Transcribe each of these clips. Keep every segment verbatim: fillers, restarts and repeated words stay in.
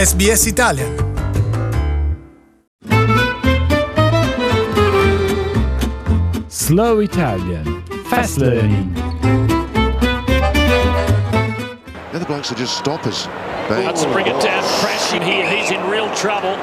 S B S Italian. Slow Italian. Fast Learning. The other blokes are just stoppers. Let's bring it down, crashing here. He's in real trouble.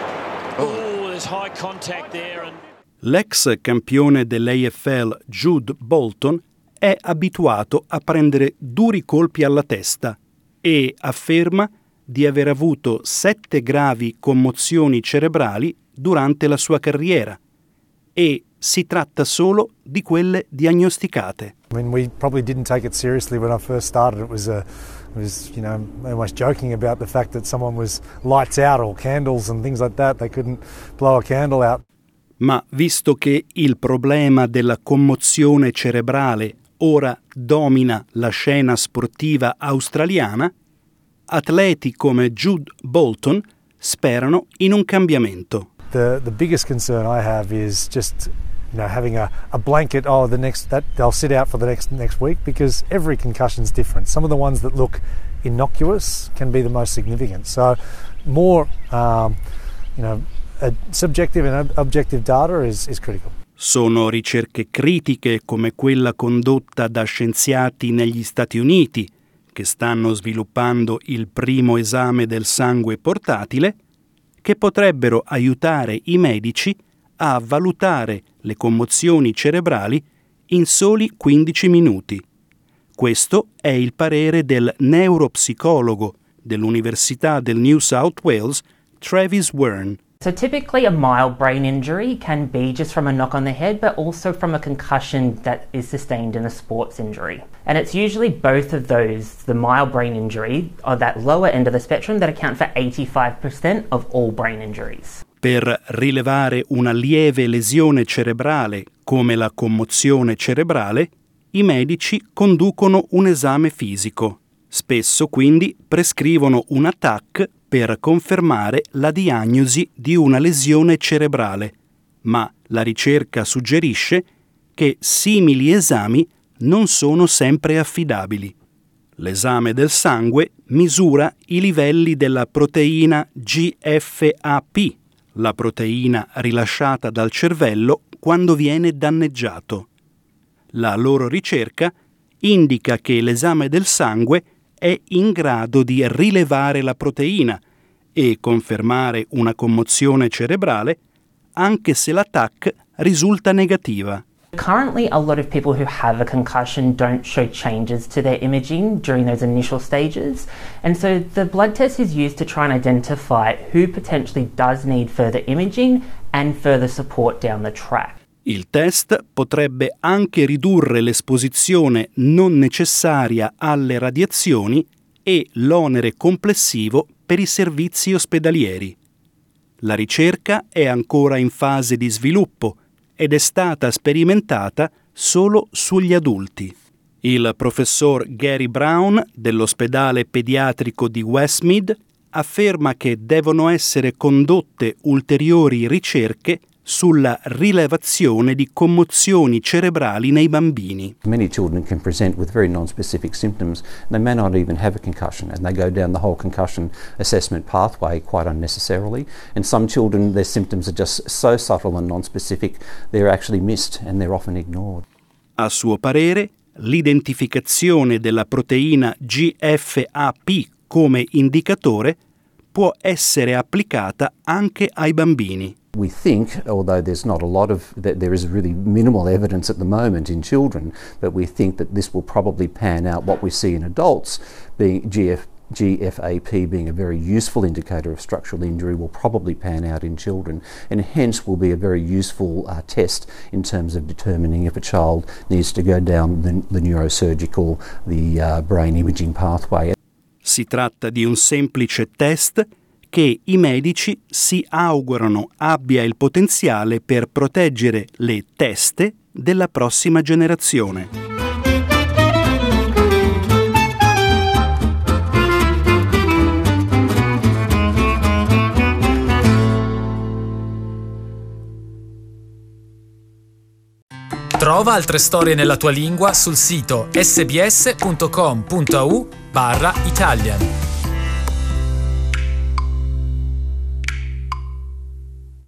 Oh, there's high contact there. And... L'ex campione dell'A F L Jude Bolton è abituato a prendere duri colpi alla testa e afferma di aver avuto sette gravi commozioni cerebrali durante la sua carriera, e si tratta solo di quelle diagnosticate. I mean, we probably didn't take it seriously when I first started. It was a, it was, you know, almost joking about the fact that someone was lights out or candles and things like that. They couldn't blow a candle out. Ma visto che il problema della commozione cerebrale ora domina la scena sportiva australiana, atleti come Jude Bolton sperano in un cambiamento. The the biggest concern I have is just, you know, having a, a blanket, oh, the next that they'll sit out for the next next week, because every concussion's different. Some of the ones that look innocuous can be the most significant. So more um, you know, a subjective and objective data is is critical. Sono ricerche critiche come quella condotta da scienziati negli Stati Uniti, che stanno sviluppando il primo esame del sangue portatile, che potrebbero aiutare i medici a valutare le commozioni cerebrali in soli quindici minuti. Questo è il parere del neuropsicologo dell'Università del New South Wales, Travis Wern. So typically a mild brain injury can be just from a knock on the head, but also from a concussion that is sustained in a sports injury. And it's usually both of those, the mild brain injury or that lower end of the spectrum, that account for eighty-five percent of all brain injuries. Per rilevare una lieve lesione cerebrale come la commozione cerebrale, i medici conducono un esame fisico. Spesso quindi prescrivono un T A C per confermare la diagnosi di una lesione cerebrale, ma la ricerca suggerisce che simili esami non sono sempre affidabili. L'esame del sangue misura i livelli della proteina G F A P, la proteina rilasciata dal cervello quando viene danneggiato. La loro ricerca indica che l'esame del sangue è in grado di rilevare la proteina e confermare una commozione cerebrale anche se la T A C risulta negativa. Currently, a lot of people who have a concussion don't show changes to their imaging during those initial stages, and so the blood test is used to try and identify who potentially does need further imaging and further support down the track. Il test potrebbe anche ridurre l'esposizione non necessaria alle radiazioni e l'onere complessivo per i servizi ospedalieri. La ricerca è ancora in fase di sviluppo ed è stata sperimentata solo sugli adulti. Il professor Gary Brown dell'ospedale pediatrico di Westmead afferma che devono essere condotte ulteriori ricerche sulla rilevazione di commozioni cerebrali nei bambini. Many children can present with very non-specific symptoms. They may not even have a concussion, and they go down the whole concussion assessment pathway quite unnecessarily. And some children, their symptoms are just so subtle and non-specific, they're actually missed and they're often ignored. A suo parere, l'identificazione della proteina G F A P come indicatore può essere applicata anche ai bambini. We think, although there's not a lot of, that there is really minimal evidence at the moment in children, but we think that this will probably pan out what we see in adults, being G F, G F A P being a very useful indicator of structural injury, will probably pan out in children, and hence will be a very useful uh, test in terms of determining if a child needs to go down the, the neurosurgical, the uh, brain imaging pathway. Si tratta di un semplice test che i medici si augurano abbia il potenziale per proteggere le teste della prossima generazione. Trova altre storie nella tua lingua sul sito sbs punto com punto a u barra Italian.